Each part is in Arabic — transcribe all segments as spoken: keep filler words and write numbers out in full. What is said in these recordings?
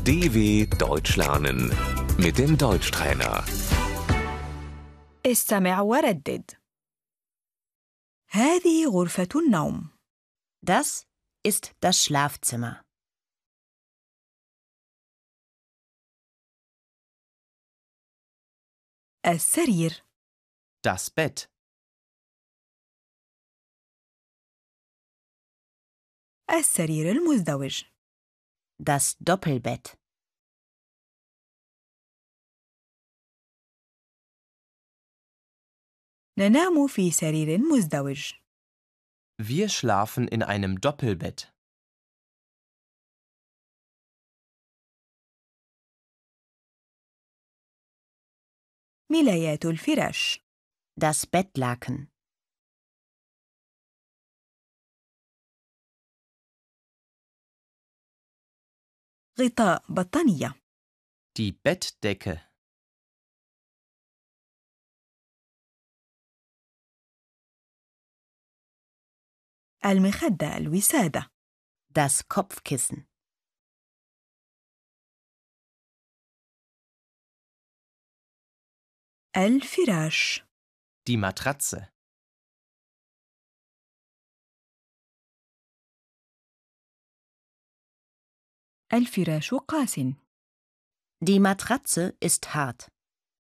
D W Deutsch lernen mit dem Deutschtrainer. استمع وردد. هذه غرفة النوم. Das ist das Schlafzimmer. السرير. Das Bett. السرير المزدوج. Das Doppelbett. ننام في سرير مزدوج. Wir schlafen in einem Doppelbett. ملايات الفراش. Das Bettlaken. غطاء بطانية. Die Bettdecke. المخدة الوسادة. Das Kopfkissen. الفراش. Die Matratze. الفراش قاس. Die Matratze ist hart.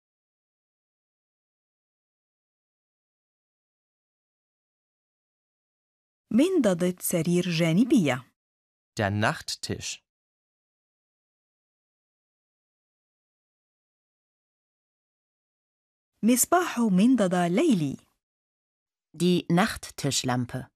منضدة سرير جانبية. Der Nachttisch. مصباح منضدة ليلي. Die Nachttischlampe.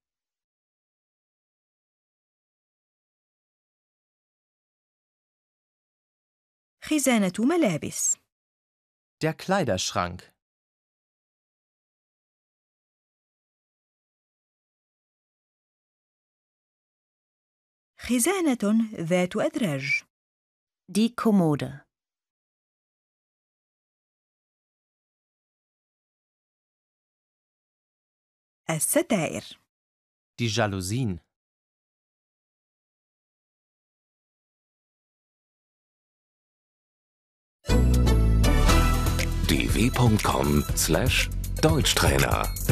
خزانة ملابس. Der Kleiderschrank. خزانة ذات أدراج. Die Kommode. الستائر. Die Jalousien. d w punkt com slash Deutschtrainer